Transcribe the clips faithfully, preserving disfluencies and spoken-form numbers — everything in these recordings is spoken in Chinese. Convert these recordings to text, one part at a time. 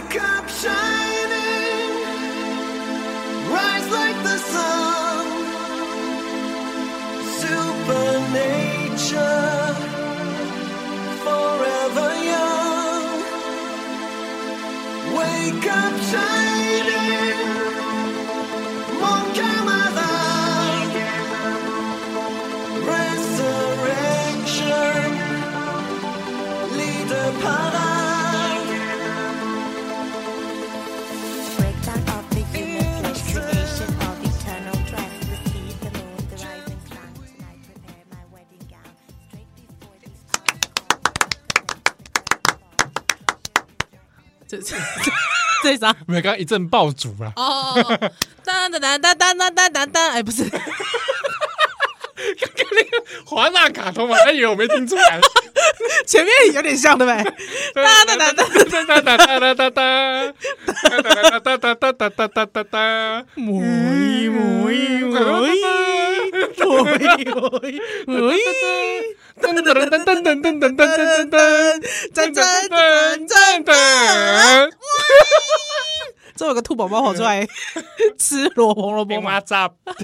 Wake up shining, rise like the sun, supernature, forever young. Wake up shining, mon camarade, resurrection, leader parade. Breakdown of the human flesh, creation of eternal dress, the sea, the moon, the rising sun. Tonight prepare my wedding gown, straight before these. 这这这啥？ 没有，刚刚一阵爆竹啦。 哦，当当当当当当当当当，哎，不是， 刚刚那个华纳卡通嘛，他以为我没聽出來。 前面有點像，對不對？當當當當當當當當當當當當當當，母一母一母一母一母一，噔噔噔噔噔噔噔噔噔噔噔，噔噔噔噔噔。这有個兔寶寶跑出來吃蘿蔔蘿蔔嗎？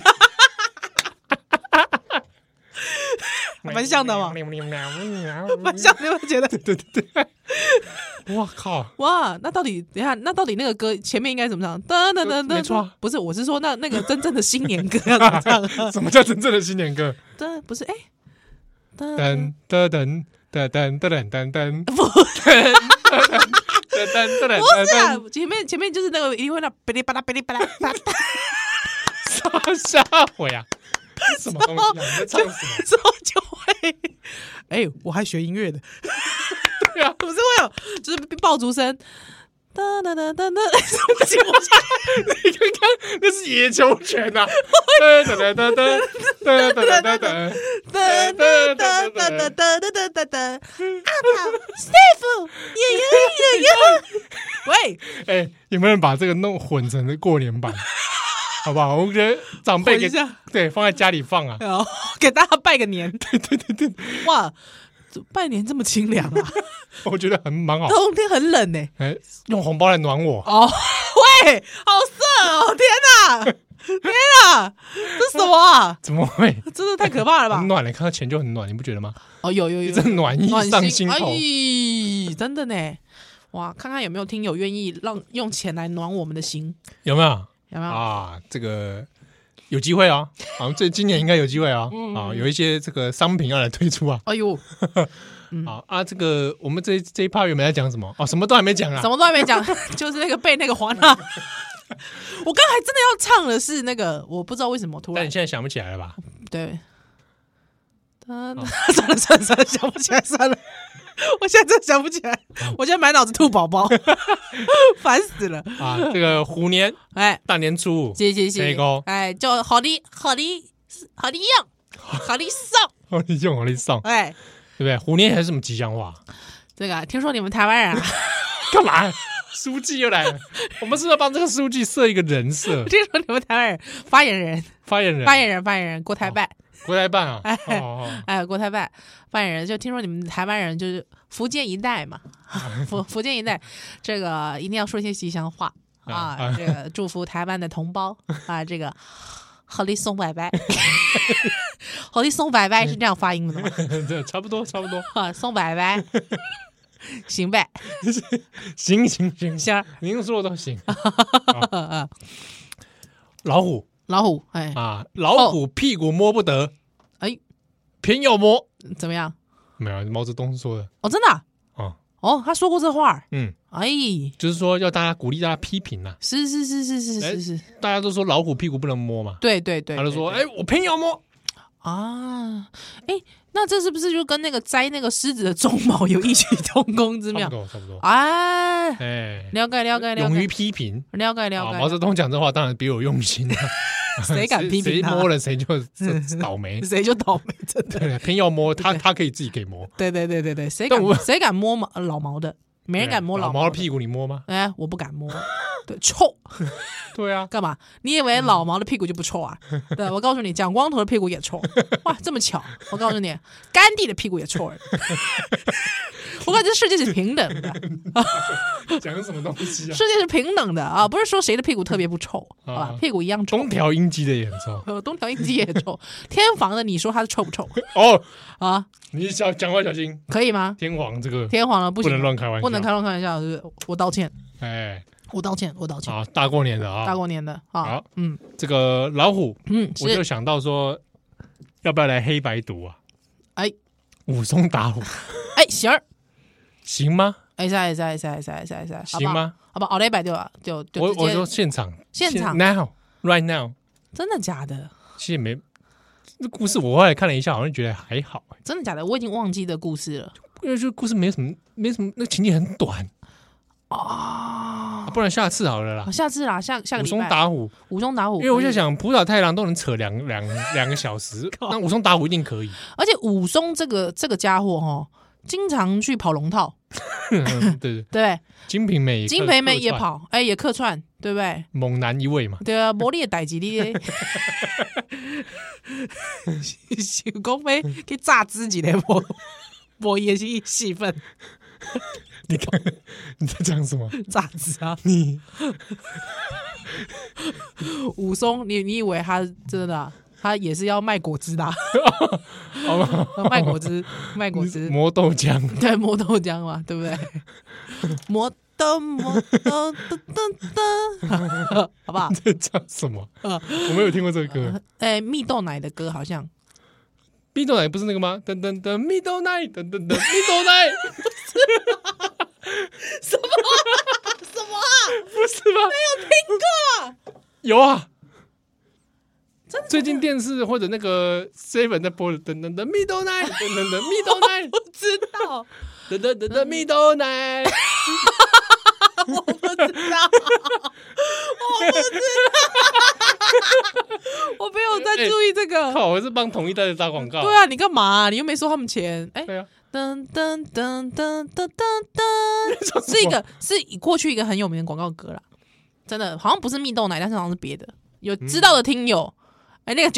蠻像的嘛，蠻像的，你有沒有覺得？對對對對， 哇靠！ 哇，那到底等一下，那到底那個歌前面應該怎麼唱？噔噔噔噔，沒錯，不是，我是說那那個真正的新年歌要怎麼唱？ 什麼叫真正的新年歌？ 噔，不是，哎， 噔噔噔噔噔噔噔噔， 不， 噔噔噔噔， 不是啊，前面前面就是那個一定會那噼里啪啦噼里啪啦啪啦， 啥啥回啊？什麼東西啊？你在唱什麼？ 之後就會，哎、欸，我還學音樂的， 對啊， 不是會有，就是爆竹聲，噠噠噠噠噠，不行，我你剛剛那是野球拳吶！噠噠噠噠噠噠噠噠噠噠噠噠噠噠噠噠噠噠，阿寶，Steve，爺爺爺爺，喂，哎，有沒有人把這個弄混成了過年版？好不好？我覺得長輩給對放在家裡放啊， 給大家拜個年。 對對對對， 哇，拜年這麼清涼啊！ 我覺得很蠻好。 冬天很冷呢、欸， 哎，用紅包來暖我。 哦，喂，好色哦！天哪，天哪，這什麼啊？ 怎麼會？ 真的太可怕了吧！ 很暖了，看到錢就很暖，你不覺得嗎？ 哦，有有有， 這暖意上心頭。 哎，真的呢！哇，看看有沒有聽友願意讓用錢來暖我們的心？ 有沒有？ 有沒有啊？這個有機會啊！好像這今年應該有機會啊！啊，有一些這個商品要來推出啊！ 哎呦， 好啊！這個我們這這一趴原本在講什麼？哦，什麼都還沒講啊！ 什麼都還沒講，就是那個被那個華納。我剛才真的要唱的是那個，我不知道為什麼突然。 但你現在想不起來了吧？ 對。算了算了算了，想不起來算了。我現在真的想不起來，我現在滿腦子兔寶寶，煩死了啊！這個虎年， 哎， 大年初五， 謝謝謝謝， 哎，就好的好的好的用，好的送， 好的用，好的送， 哎， 對不對？虎年還是什麼吉祥話？ 這個聽說你們台灣人幹嘛？書記又來了，我們是不是要幫這個書記設一個人設？ 聽說你們台灣人發言人， 發言人， 發言人，發言人國台辦。 國台辦啊， 哎， 哦、 哎，國台辦發言人就聽說你們台灣人就是福建一帶嘛，福福建一帶，這個一定要說一些吉祥話啊，啊這個祝福台灣的同胞啊，這個好利送拜拜，好利送拜拜是這樣發音的嗎？ 對，差不多差不多啊，送拜拜，行唄， 行行行行， 您說的都行。老虎。 老虎，哎啊，老虎屁股摸不得， 哎， 偏要摸， 怎麼樣？ 沒有，毛澤東說的。 哦，真的？ 哦， 哦，他說過這話。嗯，哎， 就是說要大家鼓勵大家批評吶。 是是是是是是是， 大家都說老虎屁股不能摸嘛。 對對對， 他就說，哎，我偏要摸啊，哎。那這是不是就跟那個摘那個獅子的鬃毛有異曲同工之妙？ 差不多，差不多。 哎， 哎， 了解了解了解。 勇於批評， 了解了解。 毛澤東講這話當然別有用心啊。 誰敢批評他？ 誰摸了誰就倒霉， 誰就倒霉，真的。 對，偏要摸他，他可以自己給摸。 對對對對對，誰敢誰敢摸毛老毛的？沒人敢摸老毛的屁股，你摸嗎？ 哎，我不敢摸。對，臭。 對啊， 幹嘛？你以為老毛的屁股就不臭啊？對，我告訴你，蔣光頭的屁股也臭。哇，這麼巧！我告訴你，甘地的屁股也臭。 我感覺世界是平等的。 講什麼東西啊？ 世界是平等的啊，不是說誰的屁股特別不臭，好吧？屁股一樣臭。 東條英機的也很臭， 呃，東條英機也臭。天皇的，你說他是臭不臭？ 哦啊， 你小講話小心， 可以嗎？ 天皇這個天皇了，不行， 不能亂開玩笑， 不能開亂開玩笑，是我道歉。 哎， 我道歉，我道歉。 啊，大過年的啊， 大過年的啊， 好， 嗯， 這個老虎， 嗯， 我就想到說，要不要來黑白讀啊？ 哎， 武松打虎， 哎，行兒， 行嗎？ 哎，塞塞塞塞塞塞， 行嗎？ 好吧，好嘞，白就就就我我說現場， 現場 now right now， 真的假的？ 其實沒，這故事我後來看了一下，好像覺得還好， 真的假的？我已經忘記的故事了， 因為這故事沒什麼，沒什麼，那情節很短啊， 不然下次好了啦， 下次啦，下下個禮拜武松打虎， 武松打虎， 因為我在想，浦島太郎都能扯兩兩兩個小時，那武松打虎一定可以。 而且武松這個這個家伙哈，經常去跑龍套， 對對對， 金瓶梅， 金瓶梅也跑，哎，也客串，對不對？ 猛男一位嘛， 對啊，魔力的代志你，想講要去榨汁一個無無也是戲份。 你看你在講什麼？ 榨汁啊！ 你武松，你你以為他真的、啊，他也是要賣果汁的、啊？賣果汁，賣果汁， 磨豆漿， 對，磨豆漿嘛，對不對？磨豆磨豆噔噔噔，好不好？ 在講什麼？我沒有聽過這個歌。 哎、呃，蜜豆奶的歌好像。 蜜豆奶不是那個嗎？噔噔噔，蜜豆奶，噔噔噔，蜜豆奶。 什麼、啊？什麼、啊？ 不是嗎？ 沒有聽過。 有啊，真的。最近電視或者那個 seven 在播的，噔噔噔，蜜豆奶，噔噔噔，蜜豆奶， 我不知道。 噔噔噔噔，蜜豆奶。 我不知道，我不知道，我沒有在注意這個。 靠，我是幫統一代的打廣告。 對啊，你幹嘛啊？你又沒收他們錢。哎， 對啊。 噔噔噔噔噔噔噔，是一個是過去一個很有名的廣告歌啦，真的好像不是蜜豆奶，但是好像是別的。有知道的聽友，哎，那個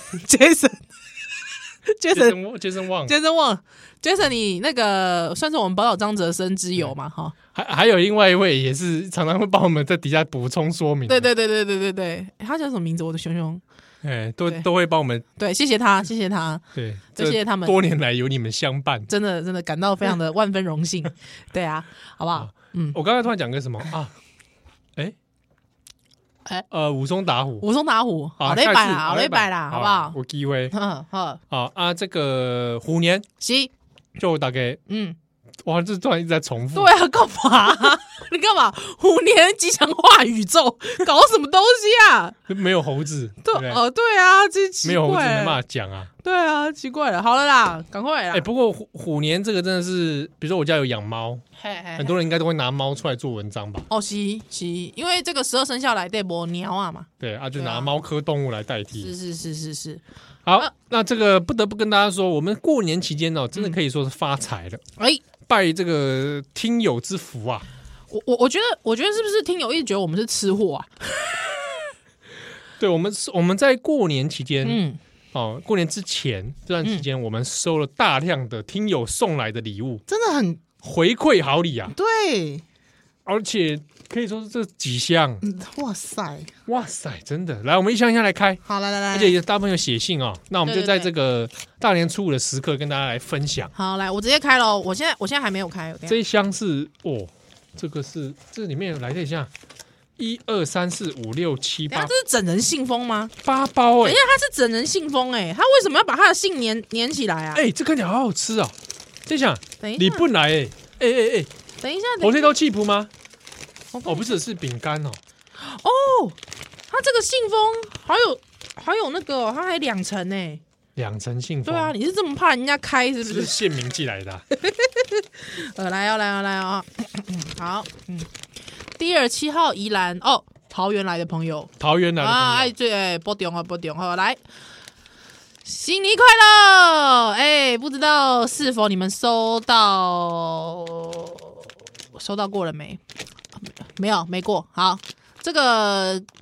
Jason，Jason。Jason Jason Wang Jason Wang Jason 你那個算是我們寶島張哲生之友嘛哈， 還還有另外一位也是常常會幫我們在底下補充說明。 對對對對對對對，他叫什麼名字？我的熊熊， 哎，都都會幫我們。 對，謝謝他，謝謝他， 對， 謝謝他們， 多年來有你們相伴， 真的真的感到非常的萬分榮幸。對啊，好不好？嗯， 我剛才突然講個什麼啊？哎。哎，呃，武松打虎， 武松打虎，好嘞擺啦，好嘞擺啦，好不好？ 有機會， 嗯，好， 好啊，這個虎年， 是， 就大概，嗯，哇，這突然一直在重複， 對啊，幹嘛？你幹嘛？虎年吉祥話宇宙，搞什麼東西啊？ 沒有猴子， 對，哦，對啊，這奇怪， 沒有猴子沒辦法講啊， 對啊，奇怪了，好了啦，趕快啦。 哎，不過虎虎年這個真的是，比如說我家有養貓，很多人應該都會拿貓出來做文章吧？ 哦，是是，因為這個十二生肖來對沒鳥啊嘛， 對啊，就拿貓科動物來代替。 是是是是是。 好，那這個不得不跟大家說，我們過年期間哦，真的可以說是發財了。哎，拜這個聽友之福啊！ 我我我覺得，我覺得是不是聽友一直覺得我們是吃貨啊？ 對，我們我們在過年期間， 嗯， 哦，過年之前這段期間，我們收了大量的聽友送來的禮物， 真的很回饋好禮啊！ 對， 而且可以說是這幾箱， 哇塞， 哇塞，真的！來，我們一箱一箱來開。 好，來來來， 而且也大部分有寫信哦，那我們就在這個大年初五的時刻跟大家來分享。 好，來，我直接開了，我現在我現在還沒有開。 這一箱是哦，這個是這裡面來，看一下，一二三四五六七八， 這是整人信封嗎？ 八包哎、欸， 等一下，它是整人信封哎、欸，它為什麼要把它的信粘粘起來啊？ 哎、欸，這看起來好好吃啊！這下， 等一下， 你不來哎哎哎哎， 等一下， 火腿豆氣譜嗎？ 哦， 不是，是餅乾哦。 哦，它這個信封好有好有那個，它還兩層呢。 兩層信封。 對啊，你是這麼怕人家開是不是？ 是縣民寄來的、啊。 呃，來哦，來哦，來哦。好，嗯，第二七號宜蘭哦，桃園來的朋友， 桃園來的朋友啊， 哎，對，哎，不中啊，不中，好來。新年快樂！哎，不知道是否你們收到收到過了沒？沒有，沒過。好，這個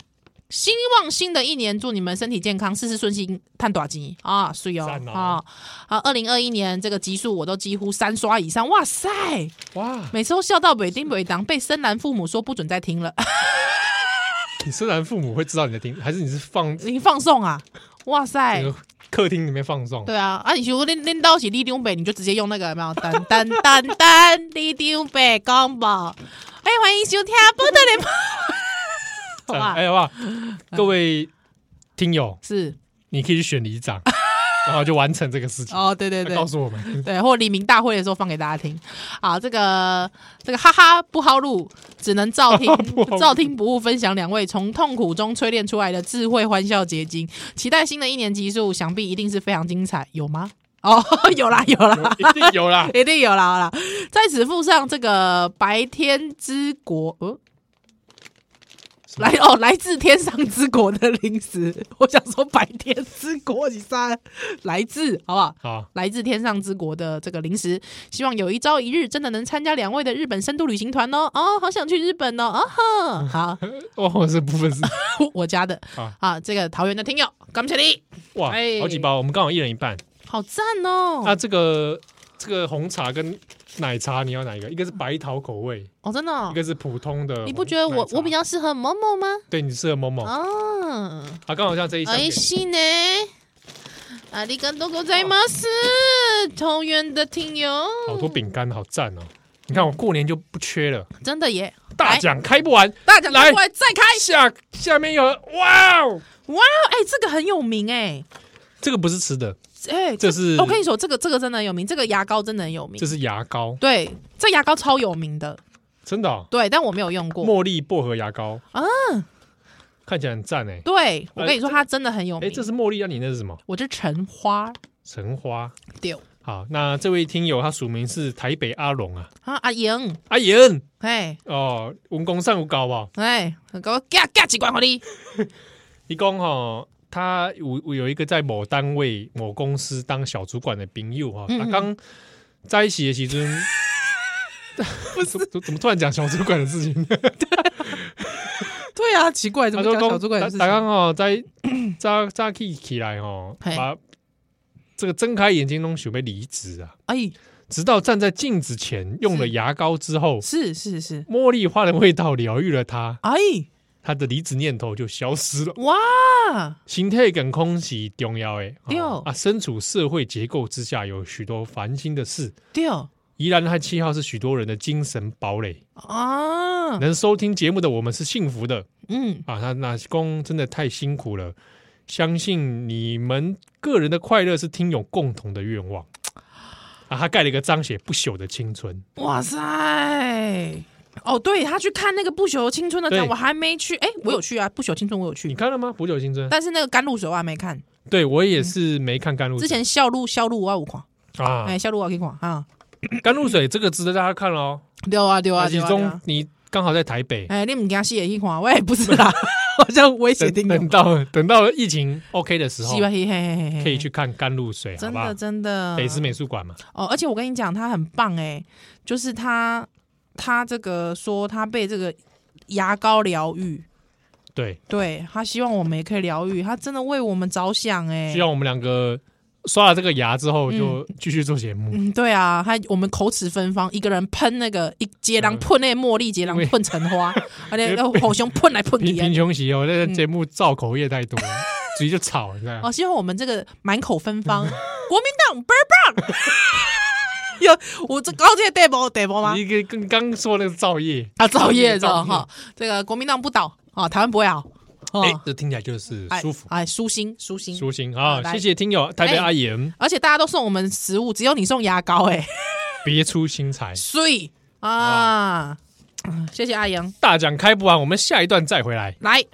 希望新的一年祝你們身體健康，事事順心，賺大錢啊！所以哦，啊，好，二零二一年這個集數我都幾乎三刷以上，哇塞，哇，每次都笑到尾丁尾當，被深藍父母說不准再聽了。 你深藍父母會知道你在聽，還是你是放你放送啊？哇塞！ 客廳裡面放送， 對啊，啊，你如果恁恁到是李長伯，你就直接用那個有沒有？噔噔噔噔，李長伯廣播，哎，歡迎收聽《波特連播》。好吧， 哎，好不好？各位聽友， 是你可以去選里長，然後就完成這個事情。 哦，對對對， 告訴我們， 對，或黎明大會的時候放給大家聽。啊，這個這個哈哈不好錄，只能照聽，照聽不誤。分享兩位從痛苦中淬煉出來的智慧歡笑結晶，期待新的一年集數，想必一定是非常精彩，有嗎？哦，有啦有啦， 一定有啦， 一定有啦，好啦，在此附上這個白天之國，呃來哦，來自天上之國的零食，我想說白天之國，你啥？來自好不好？好，來自天上之國的這個零食，希望有一朝一日真的能參加兩位的日本深度旅行團哦！哦，好想去日本哦！啊哈，好， 哦，這部分是我家的啊，啊，這個桃園的聽友，感謝你！ 哇，哎、好幾包，我們剛好一人一半， 好讚哦！ 那、啊、這個這個紅茶跟奶茶你要哪一個？一個是白桃口味哦，真的、哦， 一個是普通的。 你不覺得我我比較適合某某嗎？ 對，你適合某某啊。啊，剛好像這一箱。哎，是呢。ありがとうございます，桃園的聽友。好多餅乾，好讚哦！你看我過年就不缺了， 真的耶！ 大獎開不完， 大獎開不完，再開。 下下面有哇哦哇，哎，這個很有名哎。這個不是吃的。 哎、欸， 這是我跟你說，這個這個真的很有名，這個牙膏真的很有名。 這是牙膏， 對，這牙膏超有名的， 真的、哦。 對，但我沒有用過。 茉莉薄荷牙膏啊，看起來很讚哎。 對，我跟你說，它真的很有名。 哎、欸，這是茉莉啊，你那是什麼？ 我是橙花。 橙花， 對。 好，那這位聽友他署名是台北阿龍啊。 啊，阿瑩， 阿瑩， 哎， 哦，文工上有高吧？ 哎，給我加加幾罐給你。 你講哈。他有有一個在某單位某公司當小主管的朋友哈，他剛在一起的時陣，不是怎怎麼突然講小主管的事情？對， 對啊，奇怪，怎麼講小主管的事情？ 他剛好在早早起起來哈，把這個睜開眼睛都準備離職啊！哎，直到站在鏡子前用了牙膏之後，是是是，茉莉花的味道療癒了他，哎。他的離職念頭就消失了。哇，心態跟空氣重要誒。對哦，啊，身處社會結構之下，有許多煩心的事。對哦，宜蘭和七號是許多人的精神堡壘啊。能收聽節目的我們是幸福的。嗯，啊，他那公真的太辛苦了。相信你們個人的快樂是聽友共同的願望。啊，他蓋了一個章寫不朽的青春。哇塞！哦，對，他去看那個不朽青春的展，我還沒去。哎，我有去啊，不朽青春我有去。你看了嗎？不朽青春，但是那個甘露水我還沒看。對，我也是沒看甘露水。之前笑露笑露我有看啊，哎，笑露我可以看啊。甘露水這個值得大家看哦。對啊，對啊，其中你剛好在台北，哎，你唔驚死也去看，我也不是啦，好像危險定。等到等到疫情 OK 的時候，可以去看甘露水，真的真的。北師美術館嘛。哦，而且我跟你講，他很棒哎，就是他。他這個說他被這個牙膏療癒，對對，他希望我們也可以療癒，他真的為我們着想哎，希望我們兩個刷了這個牙之後就繼續做節目。嗯，對啊，他我們口齒芬芳，一個人噴那個一接狼噴那個茉莉，接狼噴橙花，而且要互相噴來噴去。貧窮時候那個節目造口業太多，直接就吵，你知道嗎？哦，希望我們這個滿口芬芳，國民黨倍兒棒。有我這高階代表代表嗎？你跟剛說那個造業啊，造業是吧？哈，這個國民黨不倒啊，台灣不會好。哎，這聽起來就是舒服，哎，舒心，舒心，舒心啊！謝謝聽友台北阿言，而且大家都送我們食物，只有你送牙膏，哎，別出心裁，所以啊，謝謝阿言，大獎開不完，我們下一段再回來，來。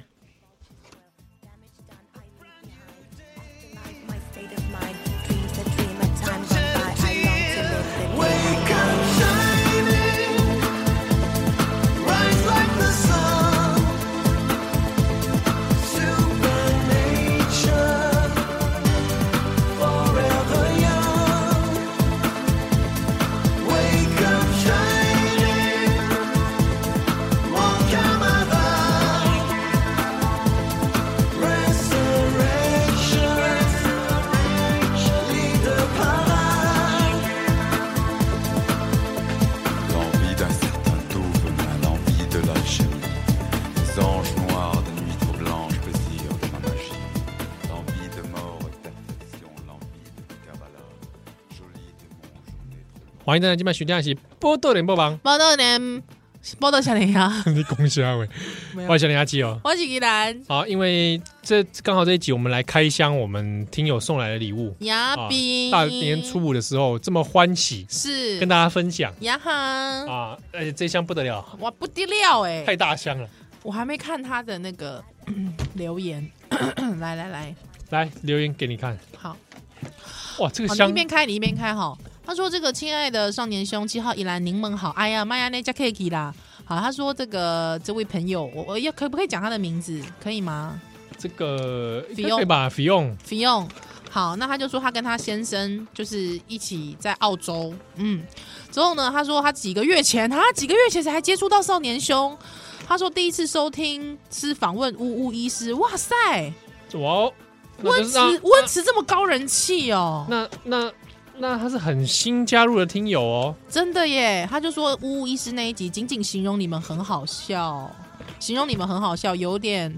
歡迎大家今晚收聽的是《波多連播榜》， 波多連，波多小林啊！ 你恭喜啊喂！我是小林阿基哦， 我是依蘭。 好，因為這剛好這一集我們來開箱我們聽友送來的禮物。 呀比、 啊、大年初五的時候這麼歡喜， 是跟大家分享呀哈啊！而且這箱不得了， 哇不得了哎、欸， 太大箱了。 我還沒看他的那個留言，來來來來留言給你看。 好， 哇，這個箱你一邊開你一邊開哈。他說：“這個親愛的少年兄，七號宜蘭檸檬好，哎呀媽呀，那家 K 啦。好，他說這個這位朋友，我我要可不可以講他的名字？可以嗎？ 這個可以吧？費用費用。好，那他就說他跟他先生就是一起在澳洲，嗯，之後呢，他說他幾個月前，他幾個月前才接觸到少年兄。他說第一次收聽是訪問烏烏醫師，哇塞， 哇， 溫池溫池這麼高人氣哦， 那那。”那他是很新加入的聽友哦， 真的耶！他就說烏烏醫師那一集僅僅形容你們很好笑，形容你們很好笑，有點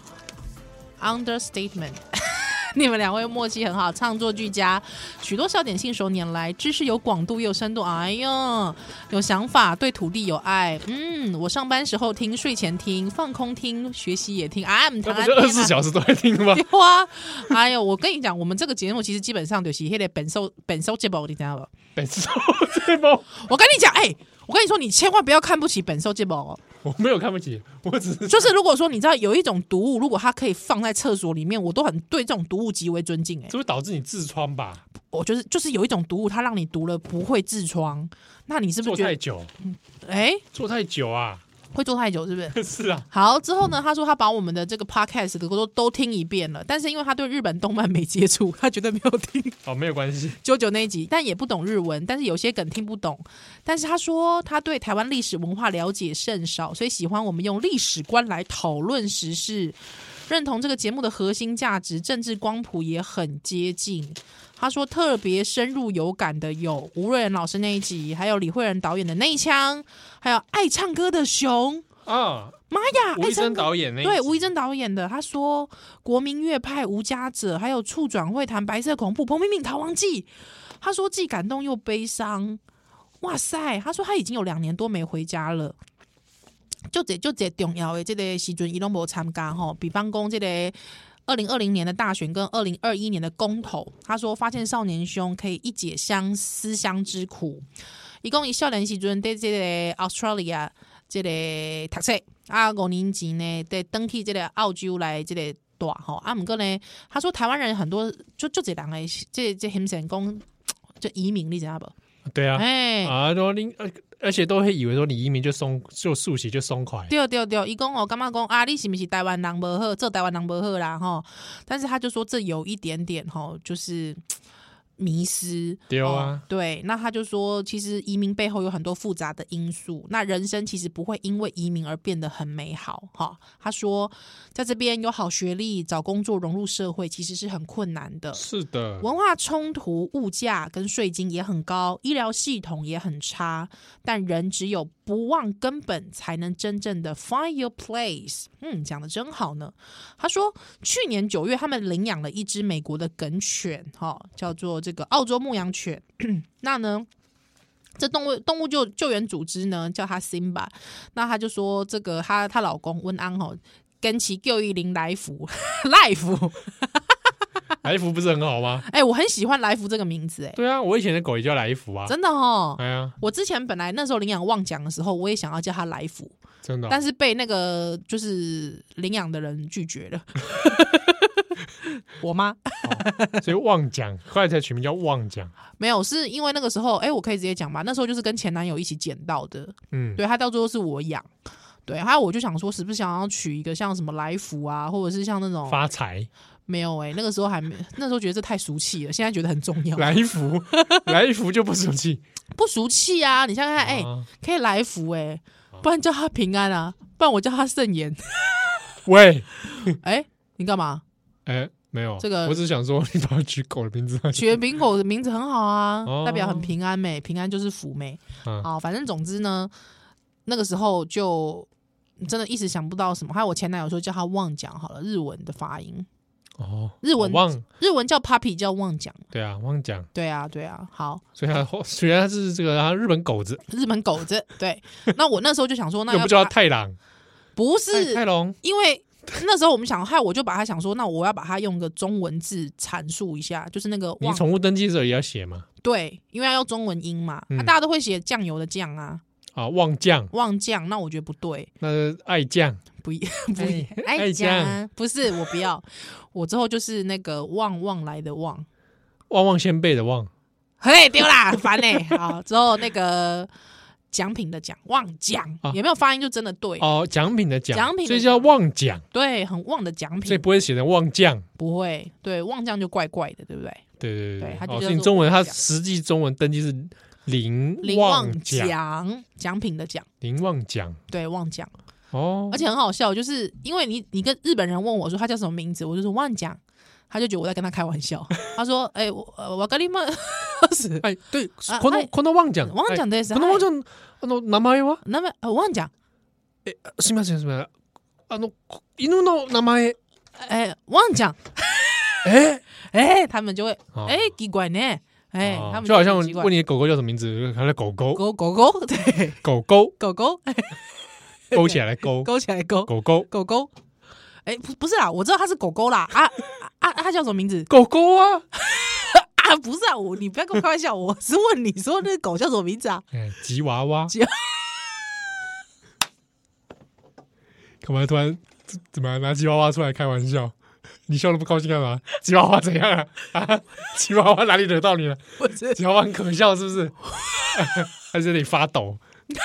understatement。你們兩位默契很好，唱作俱佳，許多笑點信手拈來，知識有廣度又有深度。哎呦，有想法，對土地有愛。嗯，我上班時候聽，睡前聽，放空聽，學習也聽。啊， 那不就二十四小時都在聽嗎？ 有啊！哎呦，我跟你講，我們這個節目其實基本上就是那個本收本收節目，你知道不？ 本收節目， 我跟你講，哎、欸，我跟你說，你千萬不要看不起本收節目哦。 我沒有看不起，我只是就是如果說你知道有一種毒物，如果它可以放在廁所裡面，我都很對這種毒物極為尊敬、欸。哎， 這會導致你痔瘡吧？ 我就是就是有一種毒物，它讓你讀了不會痔瘡，那你是不是覺得做太久？ 哎、欸， 做太久啊， 會做太久是不是？ 是啊。 好，之後呢，他說他把我們的這個 podcast 都都聽一遍了，但是因為他對日本動漫沒接觸，他絕對沒有聽。 哦，沒有關係。九九那一集，但也不懂日文，但是有些梗聽不懂。但是他說他對台灣歷史文化了解甚少，所以喜歡我們用歷史觀來討論時事，認同這個節目的核心價值，政治光譜也很接近。他說特別深入有感的有吳瑞仁老師那一集，還有李慧仁導演的內腔，還有愛唱歌的熊啊，媽呀， 吳怡珍導演那一集， 對，吳怡珍導演的。他說國民樂派無家者，還有觸轉會談白色恐怖彭明敏逃亡記。他說既感動又悲傷，哇塞！他說他已經有兩年多沒回家了。就這就這重要的這個時陣，伊攏無參加吼，比方講這個。二零二零年的大選跟二零二一年的公投，他說發現少年兄可以一解相思鄉之苦。一共以少年時陣在這個 Australia 這個讀冊啊，五年前呢在登去這個澳洲來這個大吼啊，不過呢，他說台灣人很多就就這兩個這這很成功就移民，你知道不？ 對啊，哎啊，說你呃。而且都會以為說你移民就鬆就速寫就鬆快，對對對，伊講哦，幹嘛講啊？你是不是台灣人不好，做台灣人不好啦哈？但是他就說這有一點點哈，就是迷失。對啊、哦，對，那他就說，其實移民背後有很多複雜的因素，那人生其實不會因為移民而變得很美好哈。他說，在這邊有好學歷、找工作、融入社會，其實是很困難的。 是的， 文化衝突、物價跟稅金也很高，醫療系統也很差，但人只有不忘根本，才能真正的 find your place。嗯，講得真好呢。他說，去年九月，他們領養了一隻美國的梗犬，哈，叫做這個澳洲牧羊犬。那呢，這動物動物救救援組織呢，叫他 Simba。那他就說，這個他他老公溫安哈跟其救育林來福來福。 來福不是很好嗎？ 哎、欸，我很喜歡來福這個名字、欸。哎， 對啊，我以前的狗也叫來福啊， 真的哦。 哎呀， 我之前本來那時候領養旺獎的時候，我也想要叫他來福， 真的、哦， 但是被那個就是領養的人拒絕了。我媽、 哦，所以旺獎後來才取名叫旺獎。 沒有，是因為那個時候，哎、欸，我可以直接講吧。那時候就是跟前男友一起撿到的，嗯，對，他到最後是我養，對，還有我就想說，是不是想要取一個像什麼來福啊，或者是像那種發財。 沒有哎、欸，那個時候還沒，那時候覺得這太俗氣了，現在覺得很重要。 來福，來福就不俗氣， 不俗氣啊！你想想看，哎、欸，可以來福哎、欸，不然叫他平安啊，不然我叫他聖言。喂，哎、欸，你幹嘛？ 哎、欸，沒有，這個我只是想說，你把它取狗的名字， 取名狗的名字很好啊，哦、代表很平安美，平安就是福美。嗯、好，反正總之呢，那個時候就真的一時想不到什麼。還有我前男友說叫他旺講好了，日文的發音。 哦， 日文旺日文叫 puppy 叫旺獎， 对啊，旺獎， 对啊对啊，好， 所以他虽然他是這個日本狗子， 日本狗子，對，那我那時候就想說，那又不叫他太郎， 不是泰龍， 因為那時候我們想，害我就把它想說，那我要把它用個中文字闡述一下，就是那個你旺， 寵物登記的時候也要寫嗎？ 對，因為要用中文音嘛， 嗯啊，大家都會寫醬油的醬啊， 啊，旺醬， 旺醬，那我覺得不對， 那是愛醬， 不一不一愛愛醬醬，不是我不要，我之後就是那個旺旺來的旺， 旺旺仙貝的旺， 嘿丟啦，煩呢、欸，好，之後那個獎品的獎，旺獎， 啊有沒有發音就真的對， 哦，獎品的獎， 獎品的所以叫旺獎， 對，很旺的獎所以品， 不會寫成旺醬。 不會，對，旺醬就怪怪的，對不對？ 對對對它就哦， 叫做所以中文它旺獎實際中文登記是林林旺旺獎， 獎，獎品的獎， 林旺獎對，旺獎， 哦， 而且很好笑，就是因為你你跟日本人問我說他叫什麼名字，我就說旺獎，他就覺得我在跟他開玩笑，他說，哎、欸，我我跟你們是， 哎，對， 啊このはいこの旺獎， 旺獎です。 この旺獎あの名前は？ 那麼呃旺獎， え、すみませんすみません。あの犬の名前， 哎，旺獎， 哎哎，他們就會哦哎奇怪呢，哎，他們就好像很奇怪問你狗狗叫什麼名字，它的狗狗狗狗狗，對， 狗狗狗狗勾起來勾勾起來勾狗狗狗狗，哎，不不是啦，我知道它是狗狗啦，啊啊啊，它叫什麼名字？ 狗狗啊， 啊，不是啊，我你不要跟我開玩笑，我是問你說那個狗叫什麼名字啊？ 哎，吉娃娃， 吉幹嘛突然怎麼拿吉娃娃出來開玩笑？你笑得不高興幹嘛？吉娃娃怎樣啊？啊，吉娃娃哪裡惹到你了？ 不是吉娃娃很可笑是不是？還是有點發抖？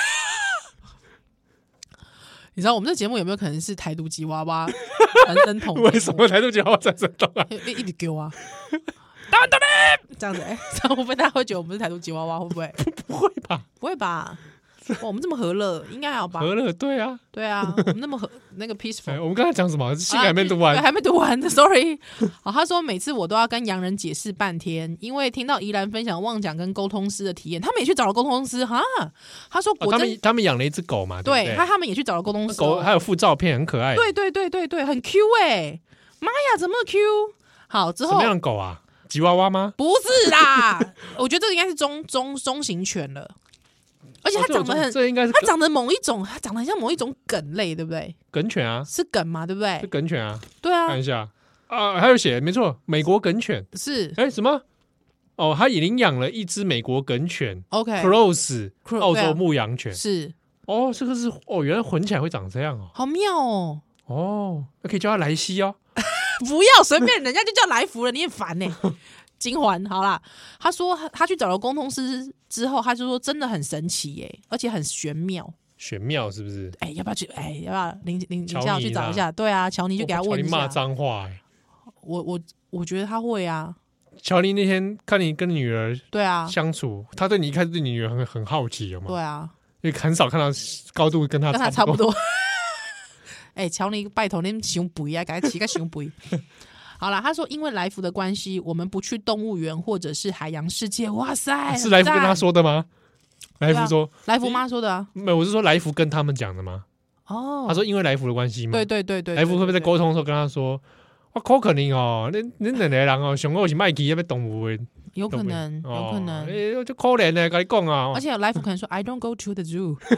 你知道我們這節目有沒有可能是台獨吉娃娃傳聲筒？ 為什麼台獨吉娃娃傳聲筒啊？ 一一直給我啊！打打這樣子，哎、欸，這樣會不會大家會覺得我們是台獨吉娃娃？會不會？ 不會吧？ 不會吧？我們這麼和樂，應該還好吧？ 和樂，對啊， 對啊，我們那麼和那個 peaceful。 哎，我們剛才講什麼？信還沒讀完， 啊、還沒讀完，sorry。好，他說每次我都要跟洋人解釋半天，因為聽到宜蘭分享旺獎跟溝通師的體驗，他們也去找了溝通師哈。他說果真、 哦、他們他們養了一隻狗嘛，對不對？ 對他他們也去找了溝通師、哦， 狗還有附照片，很可愛。 對對對對對，很 Q 哎、欸，媽呀，怎麼 Q？好，之後什麼樣的狗啊？吉娃娃嗎？ 不是啦，我覺得這個應該是中中中型犬了。而且它長得很， 哦、這，這應該是它長得某一種，它長得很像某一種梗類，對不對？ 梗犬啊， 是梗嘛，對不對？ 是梗犬啊， 對啊， 看一下啊，還有寫，沒錯，美國梗犬是， 哎，什麼？哦，他已經養了一隻美國梗犬 ，OK，Cross， Cross 澳洲牧羊犬， 是， 哦，這個是哦，原來混起來會長這樣哦， 好妙哦， 哦，那可以叫它萊西哦， 不要隨便，人家就叫來福了，你很煩呢。金環好啦，他說他去找了溝通師之後，他就說真的很神奇耶、欸，而且很玄妙。 玄妙是不是？ 哎、欸，要不要去？哎、欸，要不要林林林家去找一下？對啊，喬尼就給他問一下。喬尼罵髒話哎、欸， 我我我覺得他會啊。 喬尼那天看你跟女兒對啊相處，他對你一開始對你女兒很很好奇，有嗎？ 對啊， 因為很少看到高度跟他跟他差不多。哎、欸，喬尼拜託你胸肥啊，給他起個胸肥。好了，他說因為來福的關係，我們不去動物園或者是海洋世界。哇塞， 是來福跟他說的嗎？來福說， 來福媽說的啊。 沒有，我是說來福跟他們講的嗎？ 哦， 他說因為來福的關係嗎？ 對對對對， 來福會不會在溝通的時候跟他說，我可可能哦，你你兩個人哦，上我是賣雞那邊動物園， 有可能，有可能， 哎，就可憐的，跟你講啊。 而且來福可能說 ，I don't go to the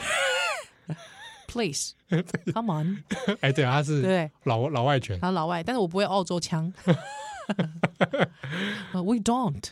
zoo。Please, come on！ 哎，對，他是對老老外犬， 他老外，但是我不會澳洲腔。We don't.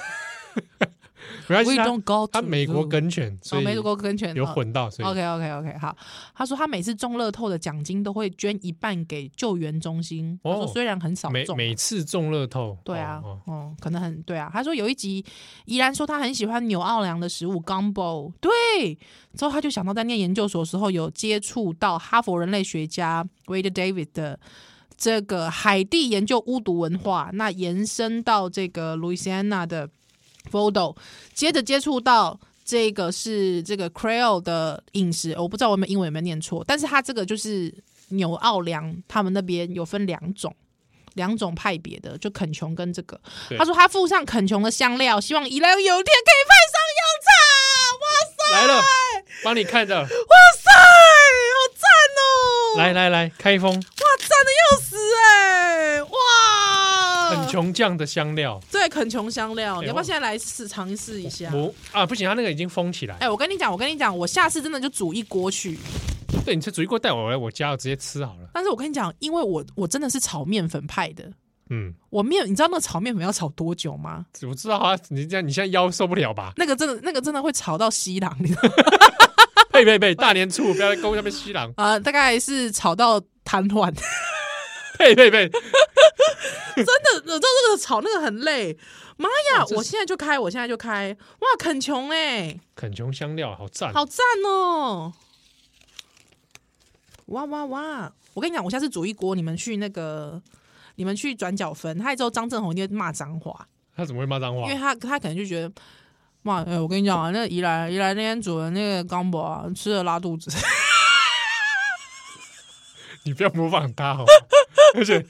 We don't go to 他美國梗犬，所以美國梗犬有混到。所以 OK OK OK 好。他說他每次中樂透的獎金都會捐一半給救援中心。他說雖然很少中， 每每次中樂透， 對啊，哦，可能很對啊。他說有一集宜蘭說他很喜歡紐奧良的食物 Gumbo， 對。之後他就想到在念研究所的時候有接觸到哈佛人類學家 Wade David 的這個海地研究巫毒文化，那延伸到這個 Louisiana 的 Vodou， 接着接觸到這個是這個 Creole 的飲食，我不知道我們英文有沒有念錯，但是他這個就是紐奧良他們那邊有分兩種兩種派別的，就肯瓊跟這個，他說他附上肯瓊的香料，希望宜蘭有一天可以派上用場。哇塞， 來了，幫你看着，哇塞，好讚哦！ 來來來，開封， 哇，讚的要死哎、欸，哇！ 肯瓊醬的香料， 對，肯瓊香料， 欸、 你要不要現在來試嘗試一下？ 我啊，不行，它那個已經封起來。 哎、欸，我跟你講，我跟你講，我下次真的就煮一鍋去。 對，你這煮一鍋帶我來我家，我直接吃好了。 但是我跟你講，因為我我真的是炒麵粉派的。 嗯， 我麵，你知道那個炒麵粉要炒多久嗎？ 我知道啊，你這樣你現在腰受不了吧？ 那個真的，那個真的會炒到稀爛，你知道嗎？ 呸呸呸！大年初五不要在公下面稀爛啊、呃！大概是炒到癱瘓。 呸呸呸！ 真的，我知道這個炒那個很累。媽呀！我現在就開，我現在就開。哇，肯瓊哎， 肯瓊香料好讚， 好讚哦！哇哇哇！我跟你講，我下次煮一鍋，你們去那個。你們去轉角分，他之後張正宏一定會罵髒話。 他怎麼會罵髒話？ 因為他他可能就覺得，媽，哎、欸，我跟你講啊，那個宜蘭宜蘭那天煮的那個岡博啊，吃了拉肚子。 你不要模仿他哦，而且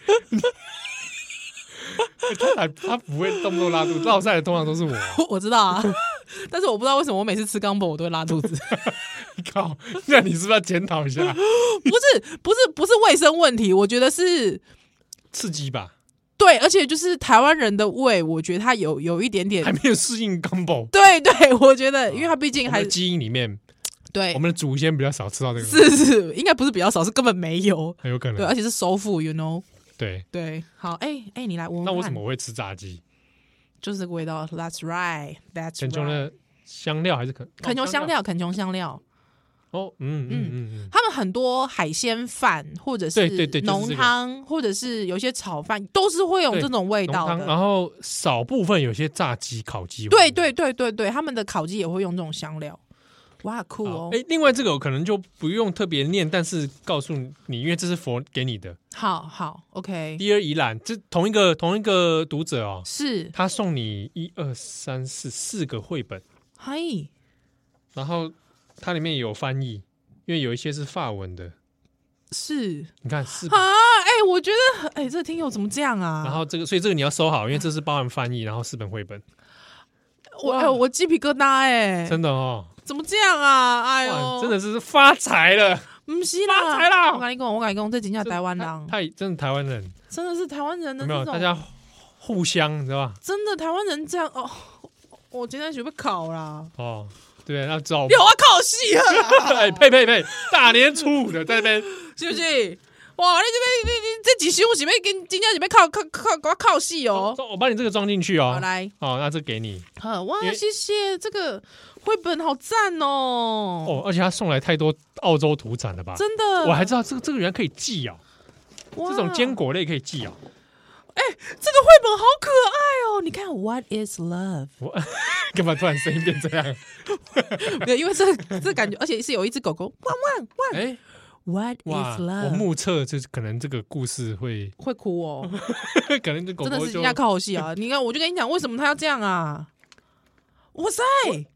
他還他不會動不動拉肚子，落賽的通常都是我。 我知道啊，但是我不知道為什麼我每次吃岡博我都會拉肚子。 靠，那你是不是要檢討一下？ 不是不是不是衛生問題，我覺得是。 刺激吧， 對，而且就是台灣人的胃，我覺得他有有一點點還沒有適應 combo。 對對，我覺得，因為他畢竟還基因裡面， 對我們的祖先比較少吃到這個， 是是，應該不是比較少，是根本沒有， 很有可能， 對，而且是熟腹 you know， 對對，好，哎、欸、哎、欸，你來聞， 那為什麼我會吃炸雞？ 就是這個味道 ，That's right，That's right。 肯瓊的香料還是肯肯瓊香料，肯瓊香料。 哦，嗯嗯嗯嗯， 他們很多海鮮飯或者是濃湯，或者是有些炒飯，都是會有這種味道的。 然後少部分有些炸雞、烤雞， 對對對對對，他們的烤雞也會用這種香料。哇，酷哦！ 哎，另外這個我可能就不用特別念，但是告訴你，因為這是佛給你的。 好好 ，OK。 第二宜蘭，這同一個同一個讀者哦， 是他送你一二三四四個繪本， 嗨， 然後。它裡面也有翻譯，因為有一些是法文的。 是， 你看是啊，哎、欸，我覺得，哎、欸，這個聽友怎麼這樣啊？ 然後這個，所以這個你要收好，因為這是包含翻譯，然後四本繪本。 我，哎、欸，我雞皮疙瘩、欸，哎， 真的哦， 怎麼這樣啊？哎呦， 真的是發財了， 不是啦， 發財啦！ 我跟你講，我跟你講，這真的台灣人， 太真的台灣人， 真的是台灣人的有沒有？大家互相，你知道吧？ 真的台灣人這樣哦，我今天準備考啦， 哦。對，那找有啊，靠戲啊！ 哎，呸呸呸！大年初五的在那邊， 是不是？哇，你這邊你你這幾兄是要跟今天是要靠靠靠靠靠戲哦！ 我把你這個裝進去哦。 好來， 好，那這給你。 好哇，謝謝這個繪本好讚哦！ 哦，而且他送來太多澳洲土產了吧？ 真的， 我還知道這個這個原來可以寄哦，這種堅果類可以寄哦。 哎、欸，這個繪本好可愛哦！你看 ，What is love？ 我幹嘛突然聲音變這樣？ 沒有，因為這這感覺，而且是有一隻狗狗，汪汪汪！哎、欸、，What is love？ 我目測就是可能這個故事會會哭哦， 可能這狗狗真的是人家靠好戲啊！你看，我就跟你講，為什麼他要這樣啊？哇塞！